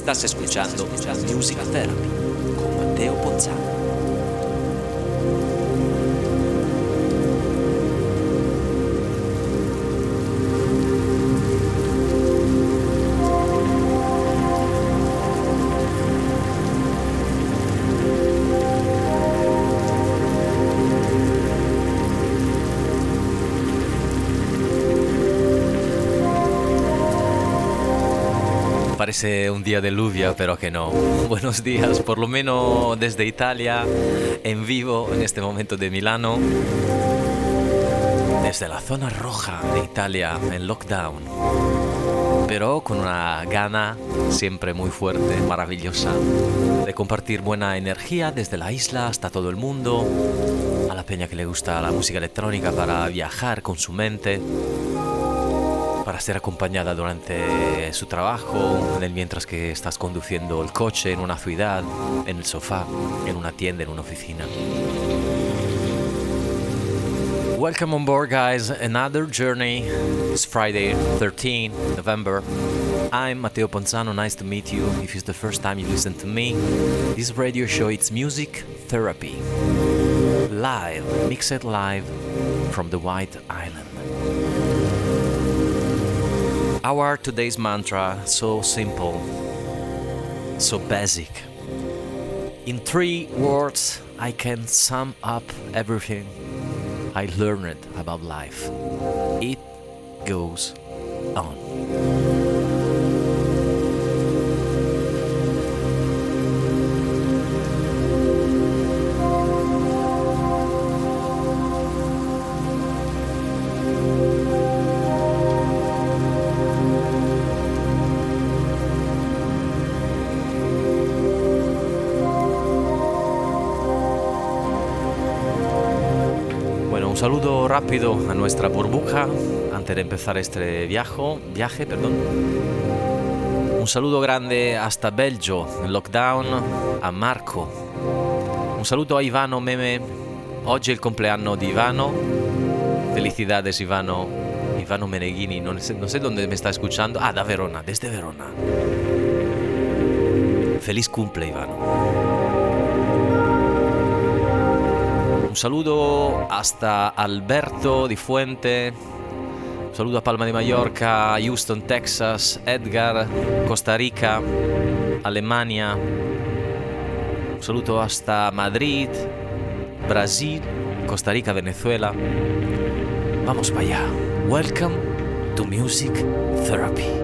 Estás escuchando Music Therapy con Matteo Ponzano. Parece un día de lluvia, pero que no. Buenos días, por lo menos desde Italia, en vivo en este momento de Milano, desde la zona roja de Italia, en lockdown, pero con una gana siempre muy fuerte, maravillosa, de compartir buena energía desde la isla hasta todo el mundo, a la peña que le gusta la música electrónica para viajar con su mente, para ser acompañada durante su trabajo, mientras que estás conduciendo el coche en una ciudad, en el sofá, en una tienda, en una oficina. Welcome on board, guys. Another journey. It's Friday, 13 November. I'm Matteo Ponzano. Nice to meet you. If it's the first time you listen to me, this radio show, it's Music Therapy. Live, mixed live from the White Island. Our today's mantra, so simple, so basic. In 3 words, I can sum up everything I learned about life. It goes on. Un saludo rápido a nuestra burbuja antes de empezar este viaje. Un saludo grande hasta Belgio, en lockdown, a Marco. Un saludo a Ivano Meme. Oggi è il compleanno di Ivano. Felicidades, Ivano. Ivano Meneghini, no sé dónde me está escuchando. Da Verona, desde Verona. Feliz cumple, Ivano. Un saludo hasta Alberto di Fuente, un saludo a Palma de Mallorca, Houston, Texas, Edgar, Costa Rica, Alemania, un saludo hasta Madrid, Brasil, Costa Rica, Venezuela. Vamos para allá. Welcome to Music Therapy.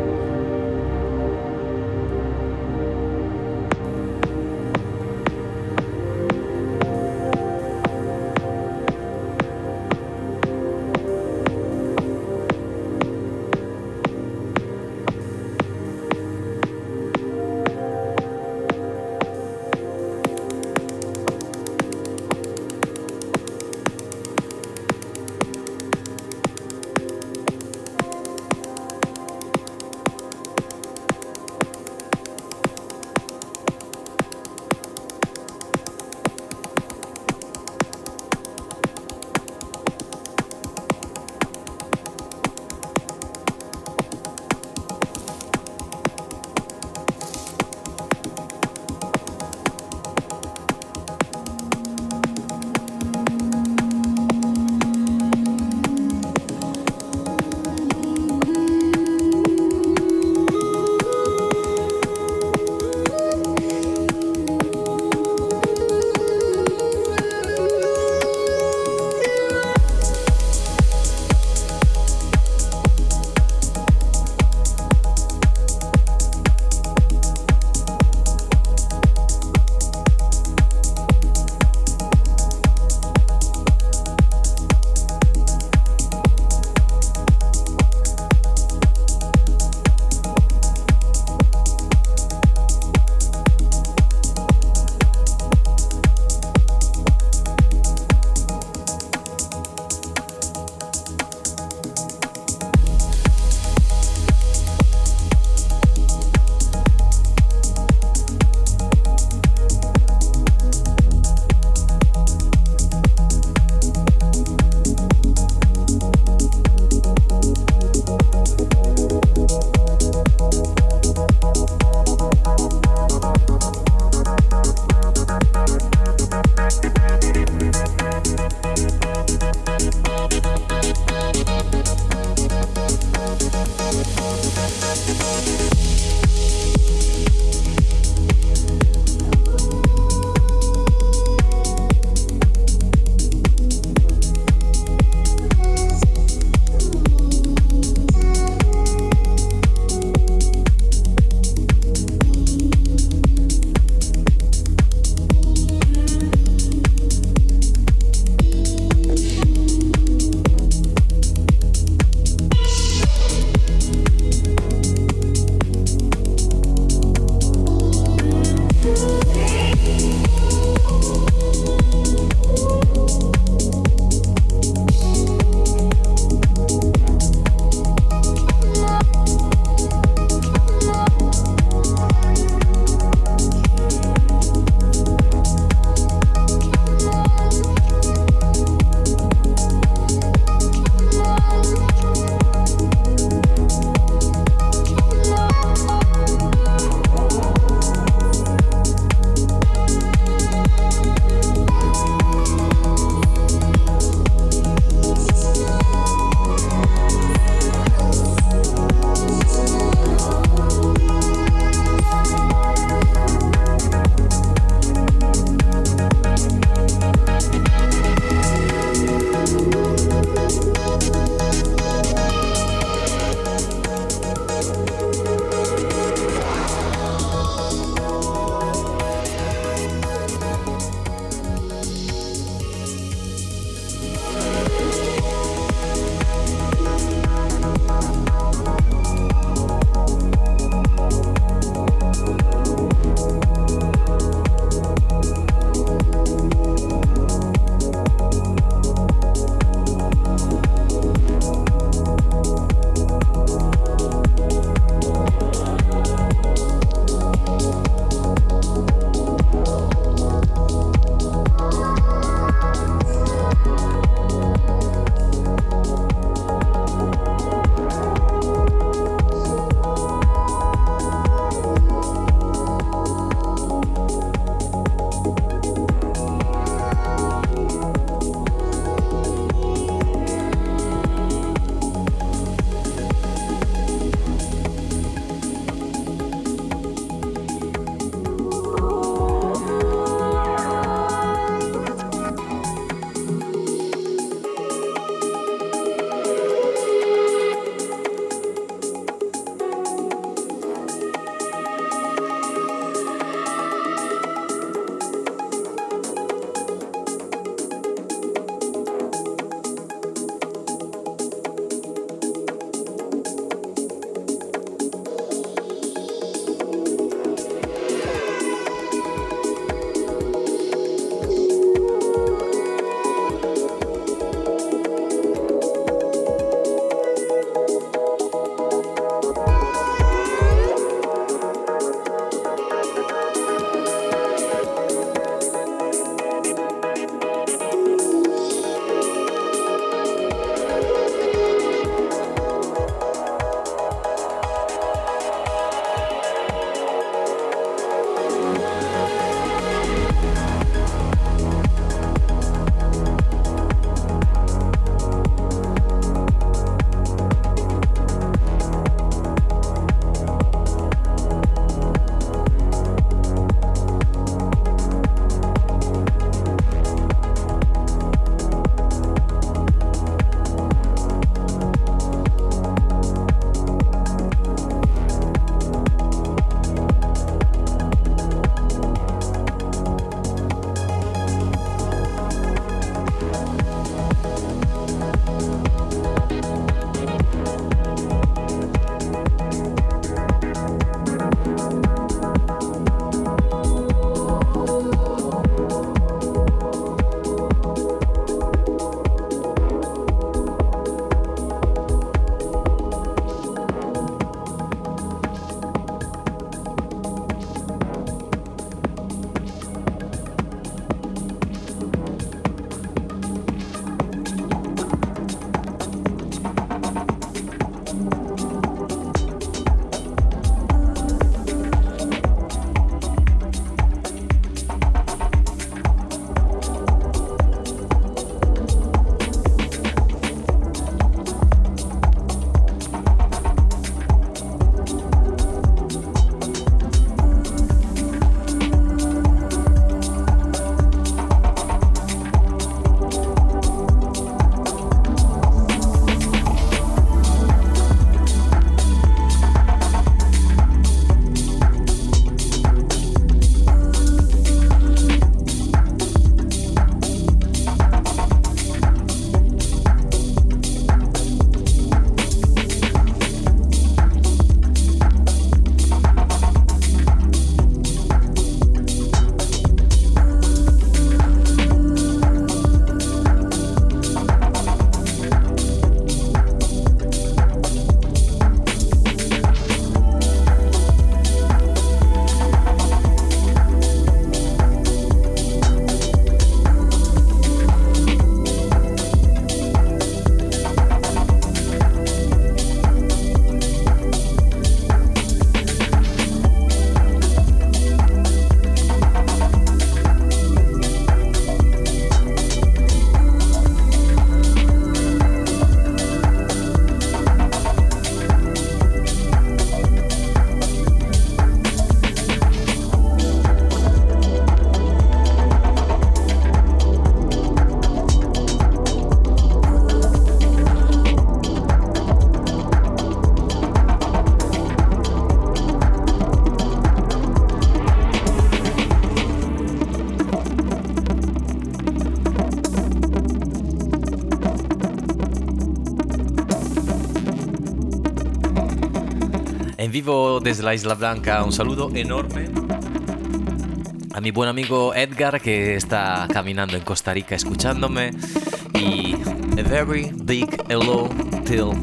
En vivo desde la Isla Blanca, un saludo enorme a mi buen amigo Edgar, que está caminando en Costa Rica escuchándome, y a very big hello till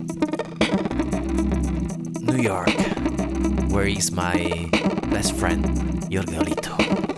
New York, where is my best friend Jorge Olito.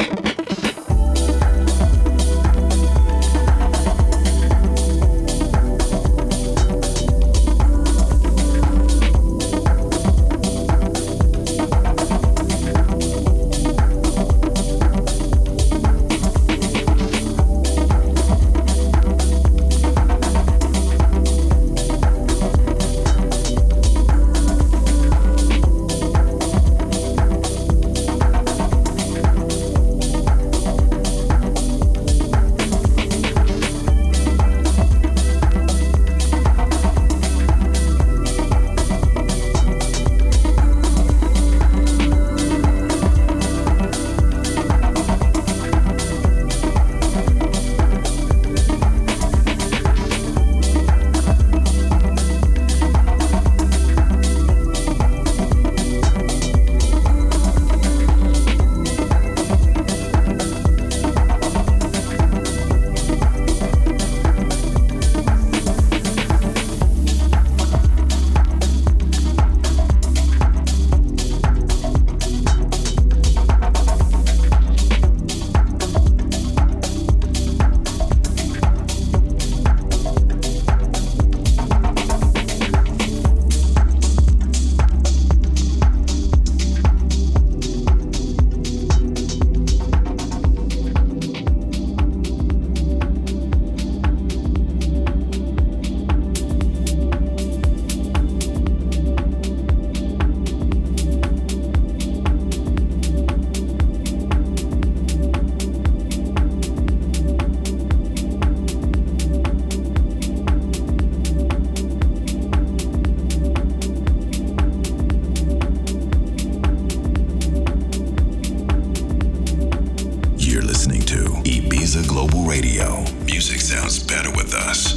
Music sounds better with us.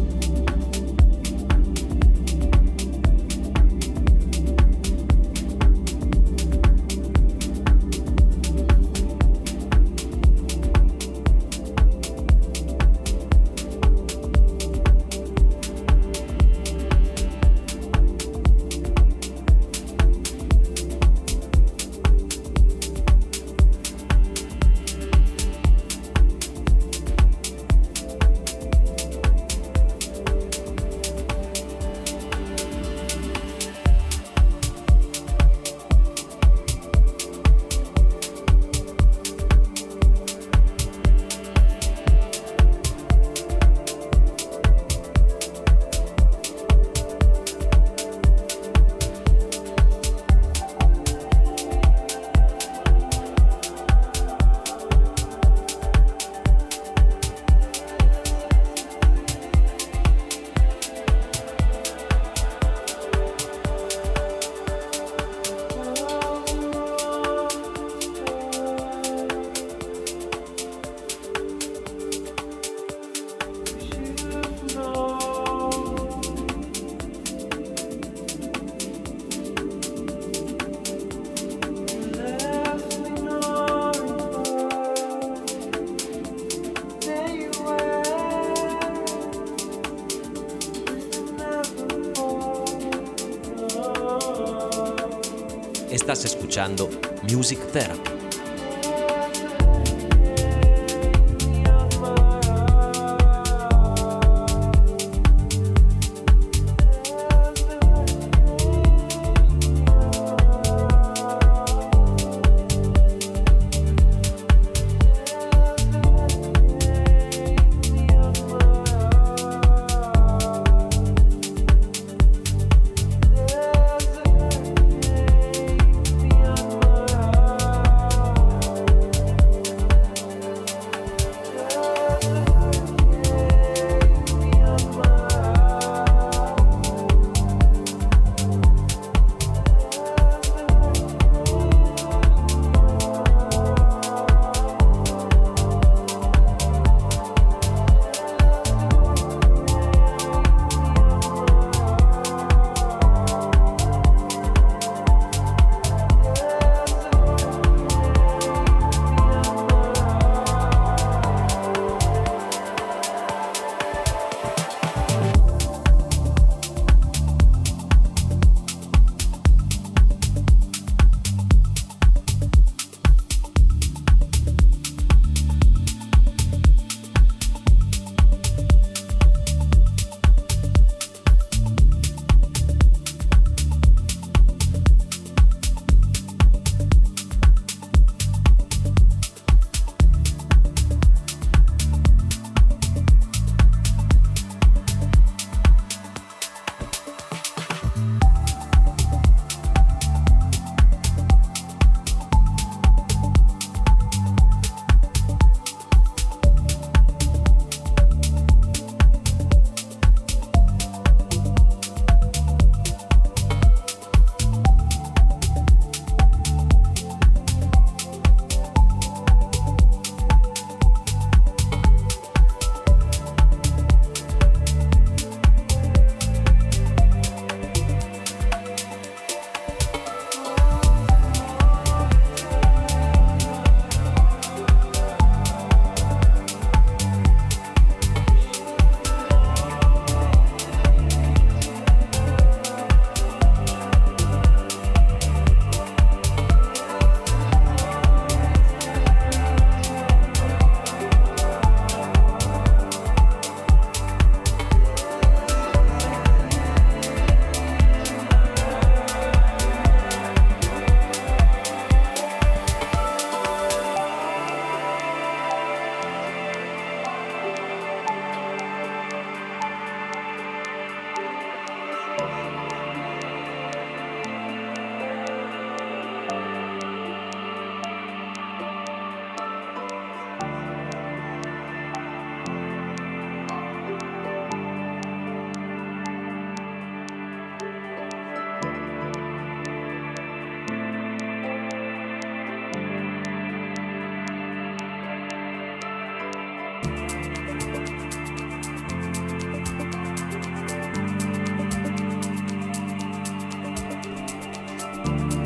Estás escuchando Music Therapy.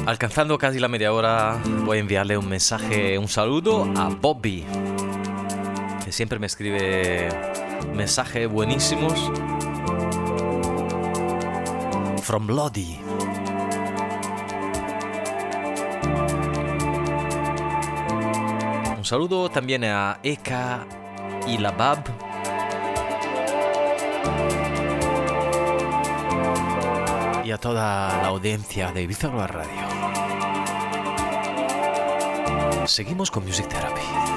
Alcanzando casi la media hora, voy a enviarle un mensaje, un saludo a Bobby, que siempre me escribe mensajes buenísimos. From Lodi. Un saludo también a Eka y Labab. Y a toda la audiencia de Ibiza Global Radio. Seguimos con Music Therapy.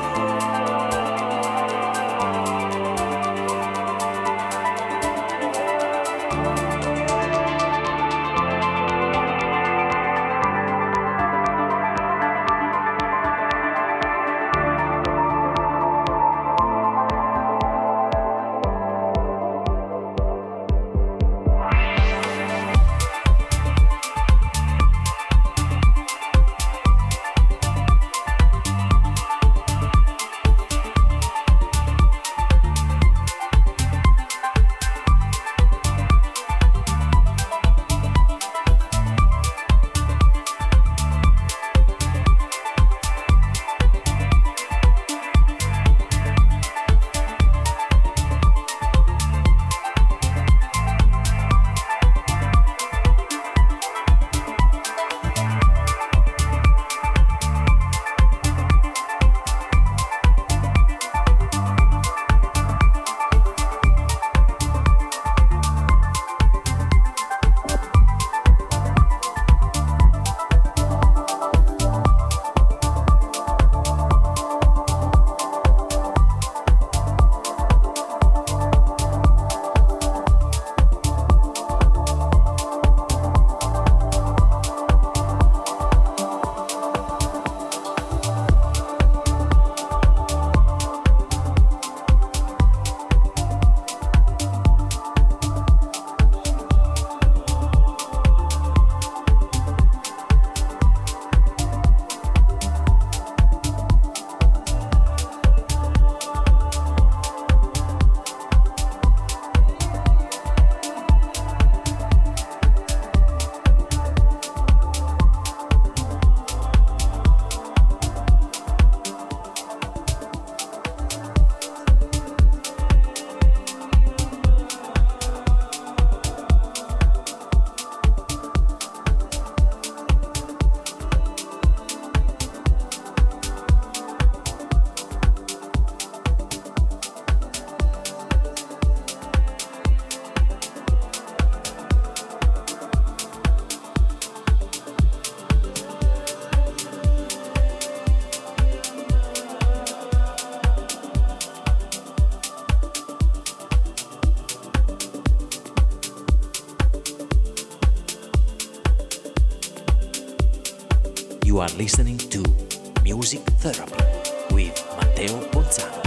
You are listening to Music Therapy with Matteo Bonzano.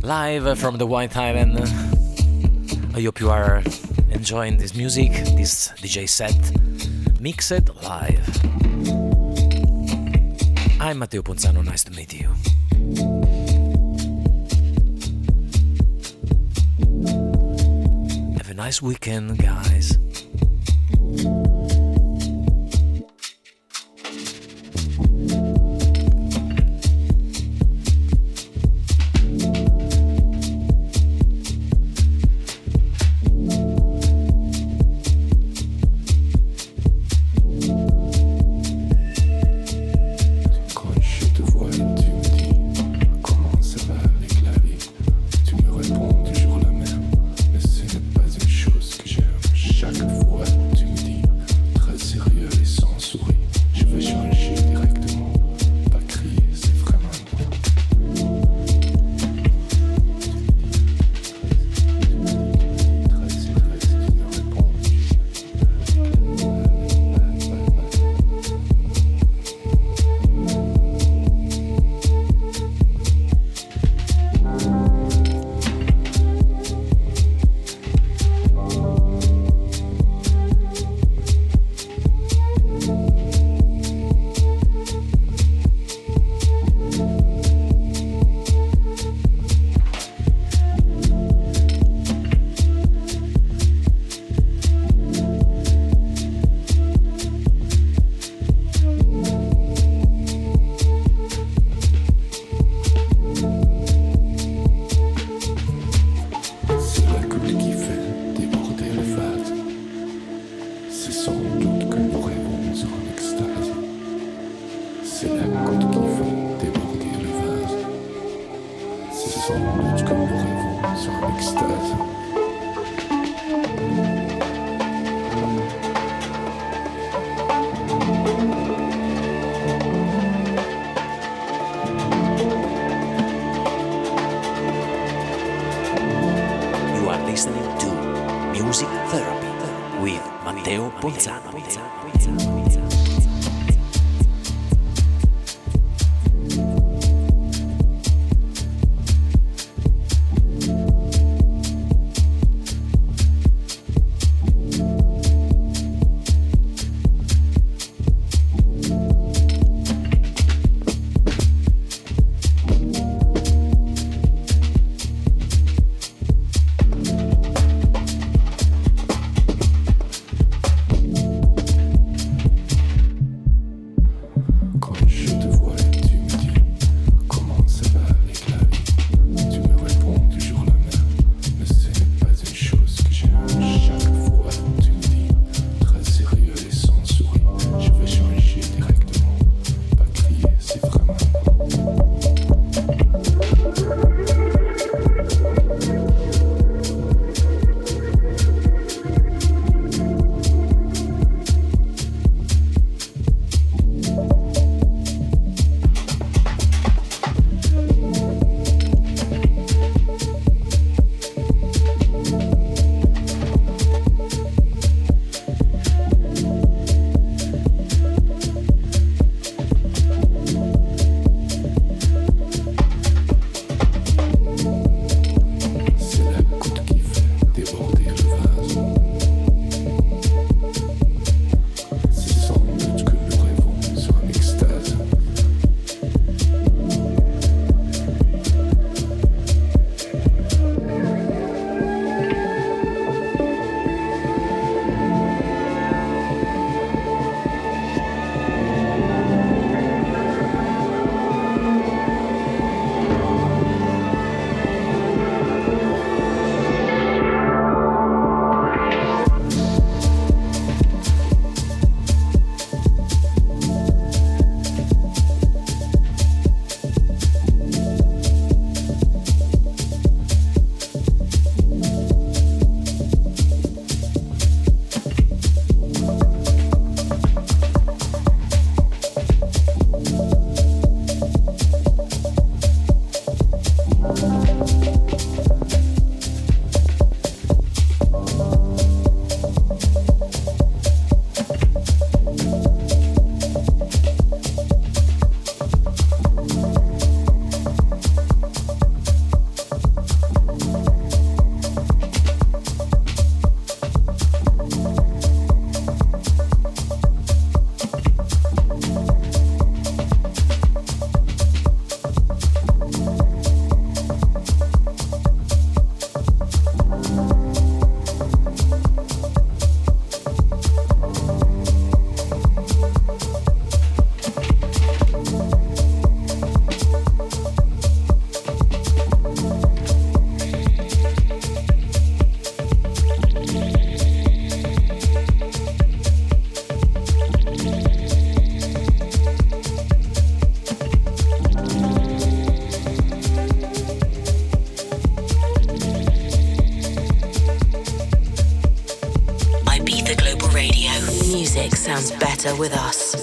live from the White Island. I hope you are enjoying this music, this DJ set, mixed live. I'm Matteo Ponzano, nice to meet you. Have a nice weekend, guys. Listening to Music Therapy with Matteo Ponzano. sounds better with us.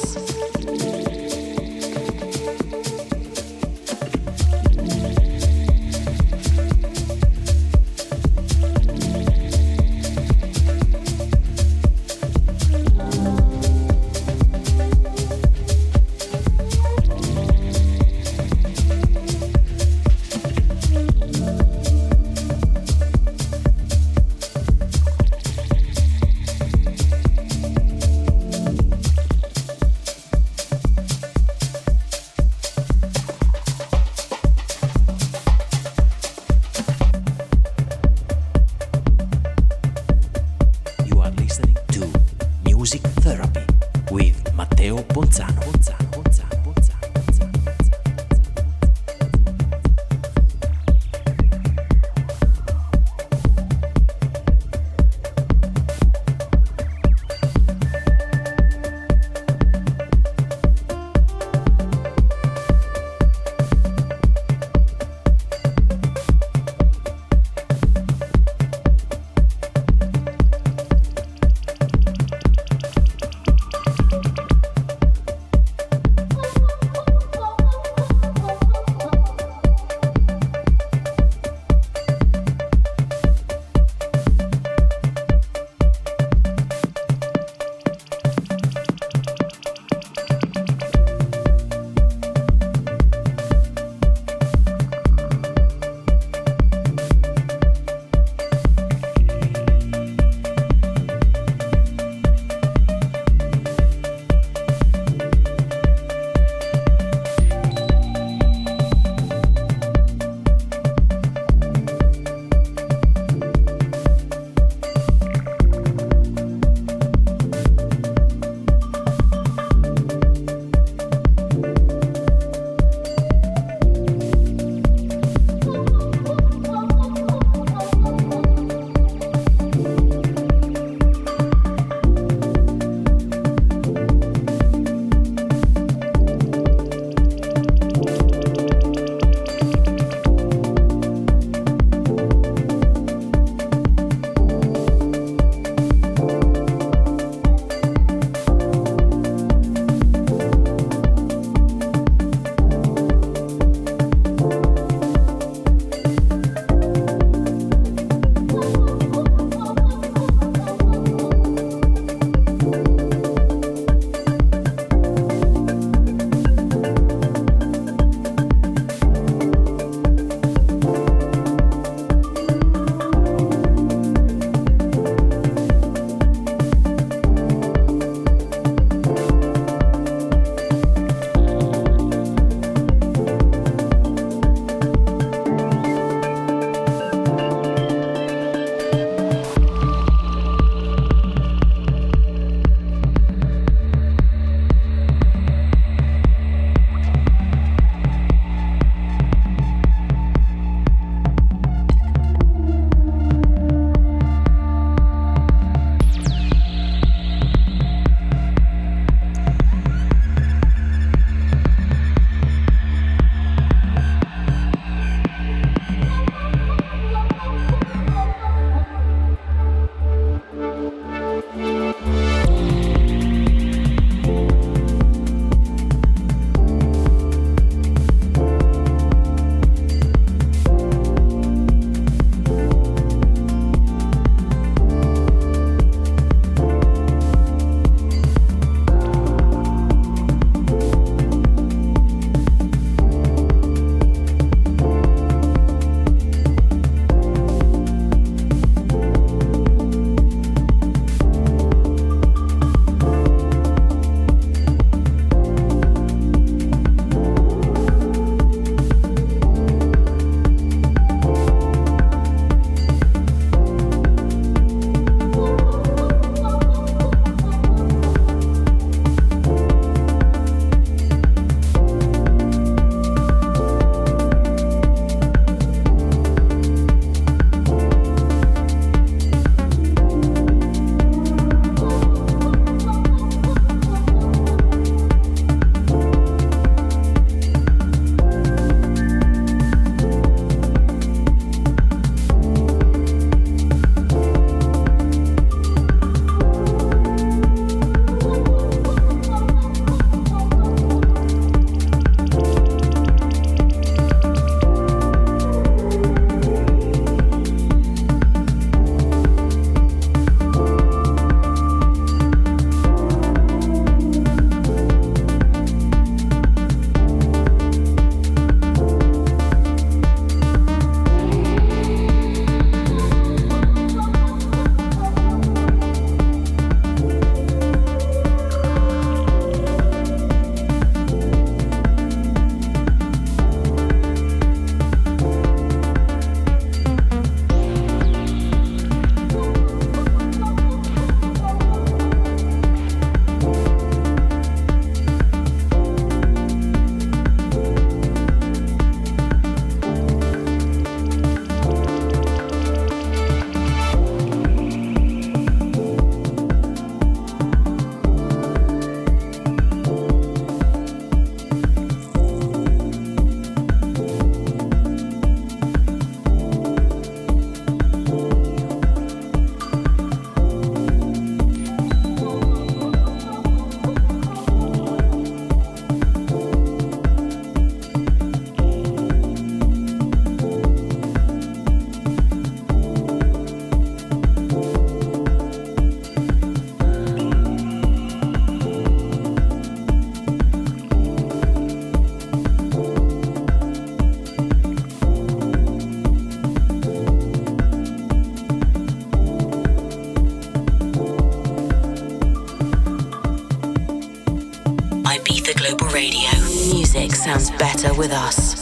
sounds better with us.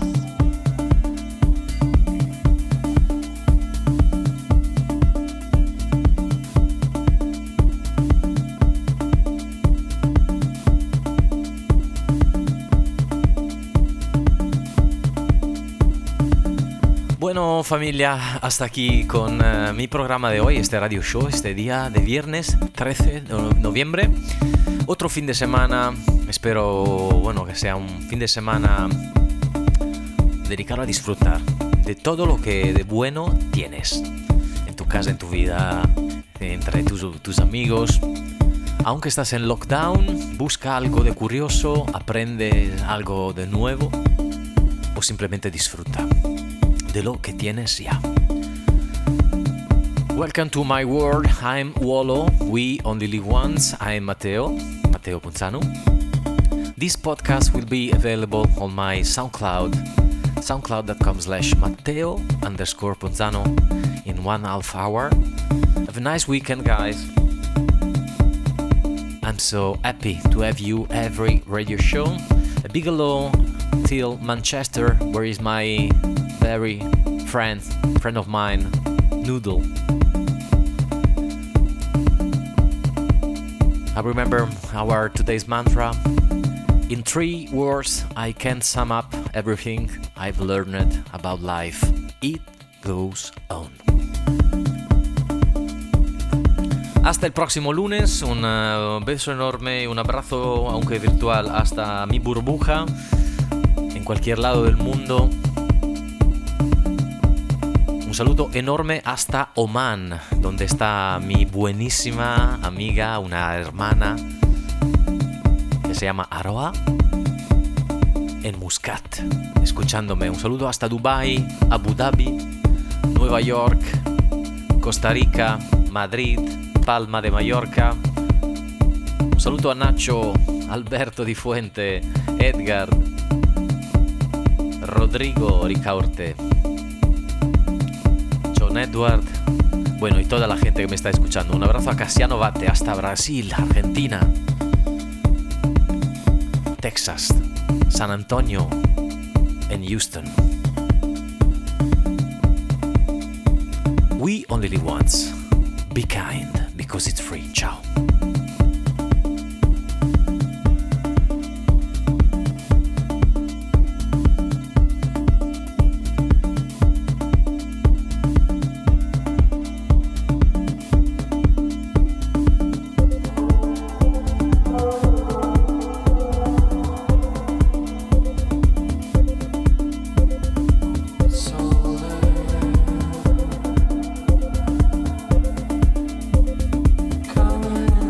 Bueno, familia, hasta aquí con mi programa de hoy, este radio show, este día de viernes 13 de noviembre. Otro fin de semana, espero, bueno, que sea un fin de semana dedicado a disfrutar de todo lo que de bueno tienes en tu casa, en tu vida, entre tus amigos. Aunque estás en lockdown, busca algo de curioso, aprende algo de nuevo o simplemente disfruta de lo que tienes ya. Welcome to my world. I'm Wolo. We only live once. I'm Matteo Ponzano. This podcast will be available on my SoundCloud, soundcloud.com/Matteo_Ponzano in 1.5 hour. Have a nice weekend, guys. I'm so happy to have you every radio show. A big hello till Manchester, where is my very friend of mine, Noodle. I remember our today's mantra. In 3 words, I can sum up everything I've learned about life. It goes on. Hasta el próximo lunes, un beso enorme, un abrazo, aunque virtual, hasta mi burbuja, en cualquier lado del mundo. Un saludo enorme hasta Oman, donde está mi buenísima amiga, una hermana que se llama Aroa, en Muscat, escuchándome. Un saludo hasta Dubai, Abu Dhabi, Nueva York, Costa Rica, Madrid, Palma de Mallorca. Un saludo a Nacho, Alberto Di Fuente, Edgar, Rodrigo Ricaurte, Edward, bueno, y toda la gente que me está escuchando. Un abrazo a Casiano Bate hasta Brasil, Argentina, Texas, San Antonio, en Houston. We only live once. Be kind, because it's free. Ciao. Coming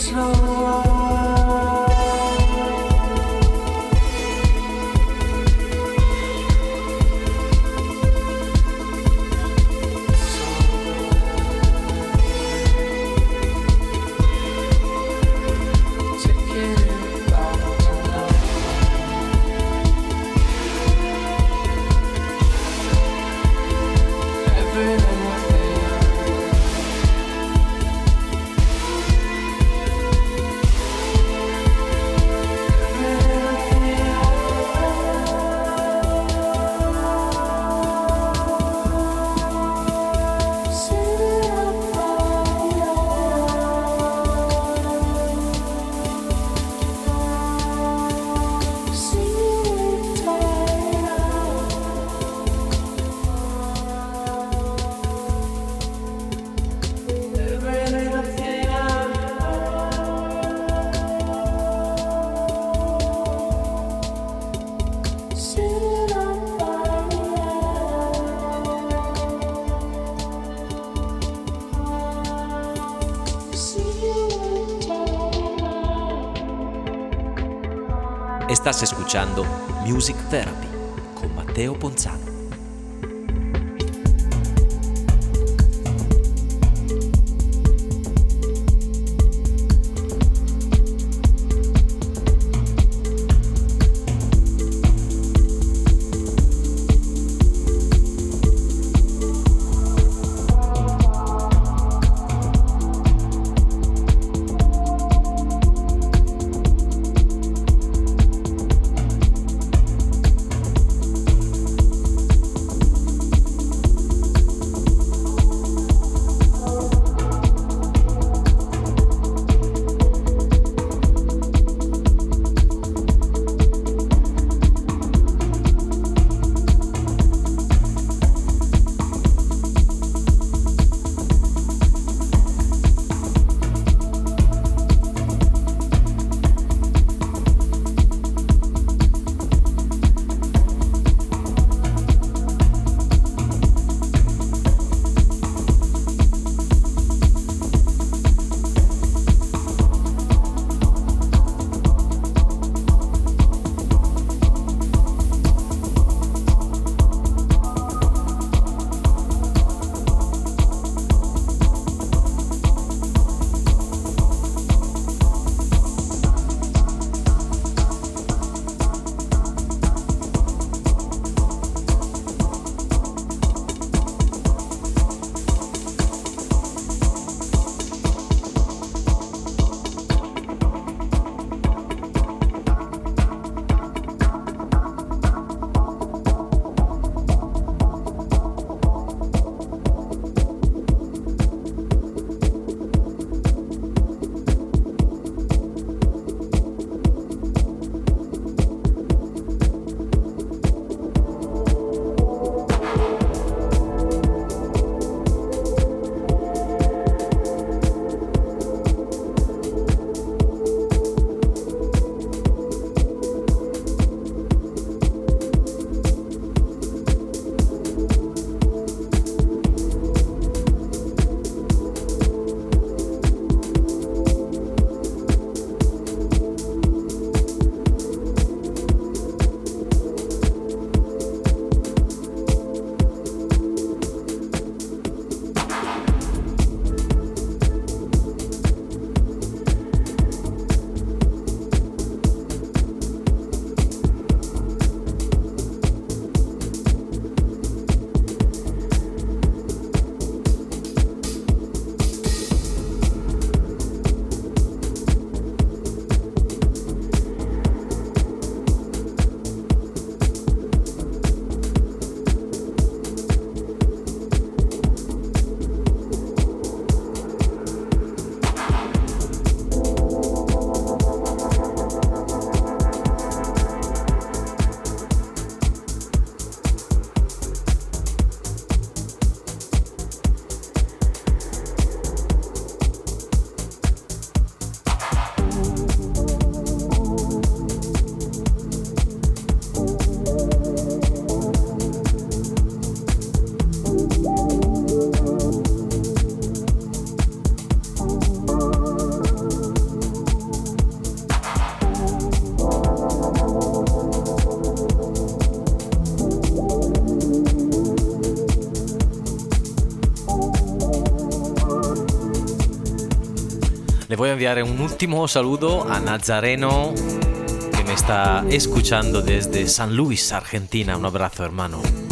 Estás escuchando Music Therapy con Matteo Ponzano. voy a enviar un último saludo a Nazareno, que me está escuchando desde San Luis, Argentina. Un abrazo, hermano.